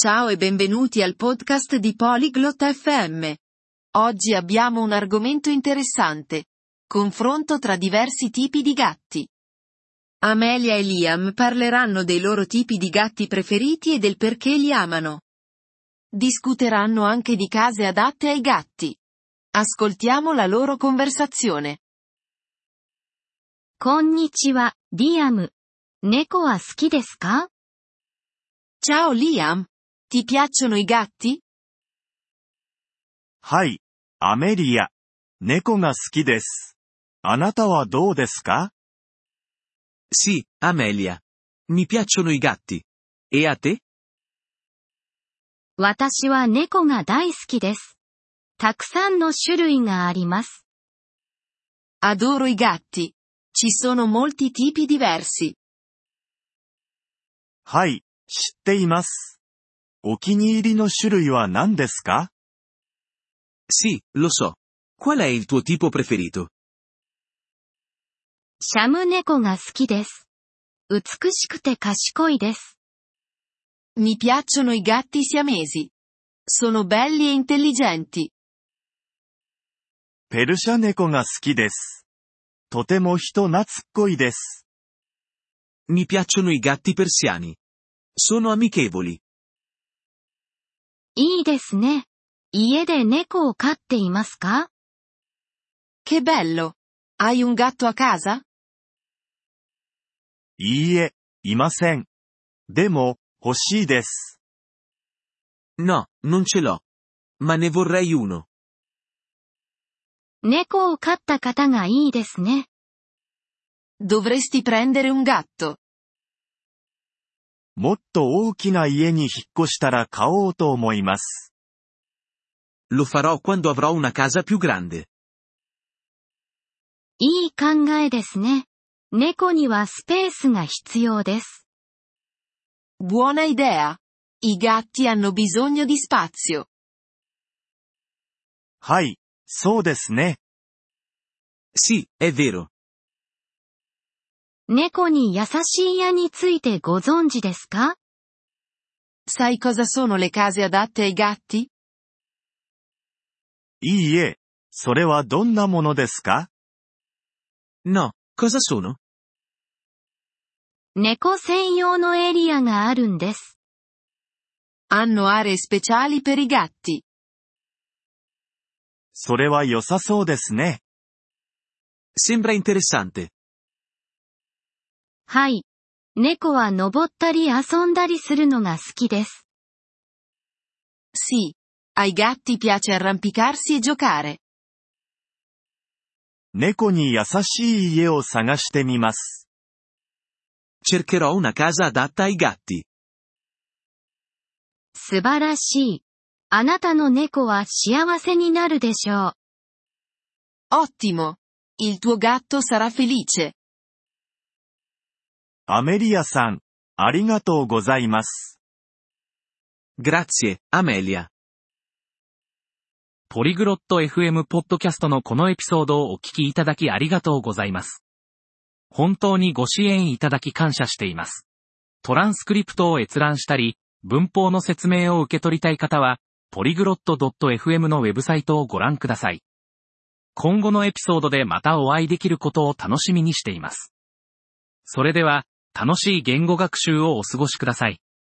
Ciao e benvenuti al podcast di Polyglot FM. Oggi abbiamo un argomento interessante. Confronto tra diversi tipi di gatti. Amelia e Liam parleranno dei loro tipi di gatti preferiti e del perché li amano. Discuteranno anche di case adatte ai gatti. Ascoltiamo la loro conversazione. こんにちは、リアム。猫は好きですか？ Ciao Liam. Ti piacciono i gatti? はい、アメリア。猫が好きです。あなたはどうですか？ Sì, Amelia. Mi piacciono i gatti. E a te? 私は猫が大好きです。たくさんの種類があります。 Adoro i gatti. Ci sono molti tipi diversi. はい、知っています。お気に入りの種類は何ですか？ Sì, lo so. Qual è il tuo tipo preferito? シャム猫が好きです。美しくて賢いです。 Mi piacciono i gatti siamesi. Sono belli e intelligenti. ペルシャ猫が好きです。とても人懐っこいです。 Mi piacciono i gatti persiani. Sono amichevoli. いいですね。家で猫を飼っていますか？ Che bello! Hai un gatto a casa? いいえ、いません。でも、欲しいです。 No, non ce l'ho. Ma ne vorrei uno. 猫を飼った方がいいですね。 Dovresti prendere un gatto. もっと大きな家に引っ越したら買おうと思います。 Lo farò quando avrò una casa più grande. いい考えですね。猫にはスペースが必要です。 Buona idea. I gatti hanno bisogno di spazio. はい、そうですね。 Sì, è vero. 猫に優しい家についてご存知ですか？ Sai cosa sono le case adatte ai gatti? いいえ、それはどんなものですか？ No, cosa sono? 猫専用のエリアがあるんです。 Hanno aree speciali per i gatti. それは良さそうですね。 Sembra interessante. はい。猫は登ったり遊んだりするのが好きです。 Sì. Ai gatti piace arrampicarsi e giocare. 猫に優しい家を探してみます。 Cercherò una casa adatta ai gatti. 素晴らしい。あなたの猫は幸せになるでしょう。 Ottimo. Il tuo gatto sarà felice. アメリアさん、ありがとうございます。 Grazie, Amelia. ポリグロット FM ポッドキャストのこのエピソードをお聞きいただきありがとうございます。本当にご支援いただき感謝しています。トランスクリプトを閲覧したり、文法の説明を受け取りたい方は、ポリグロット .fm のウェブサイトをご覧ください。今後のエピソードでまたお会いできることを楽しみにしています。それでは、楽しい言語学習をお過ごしください。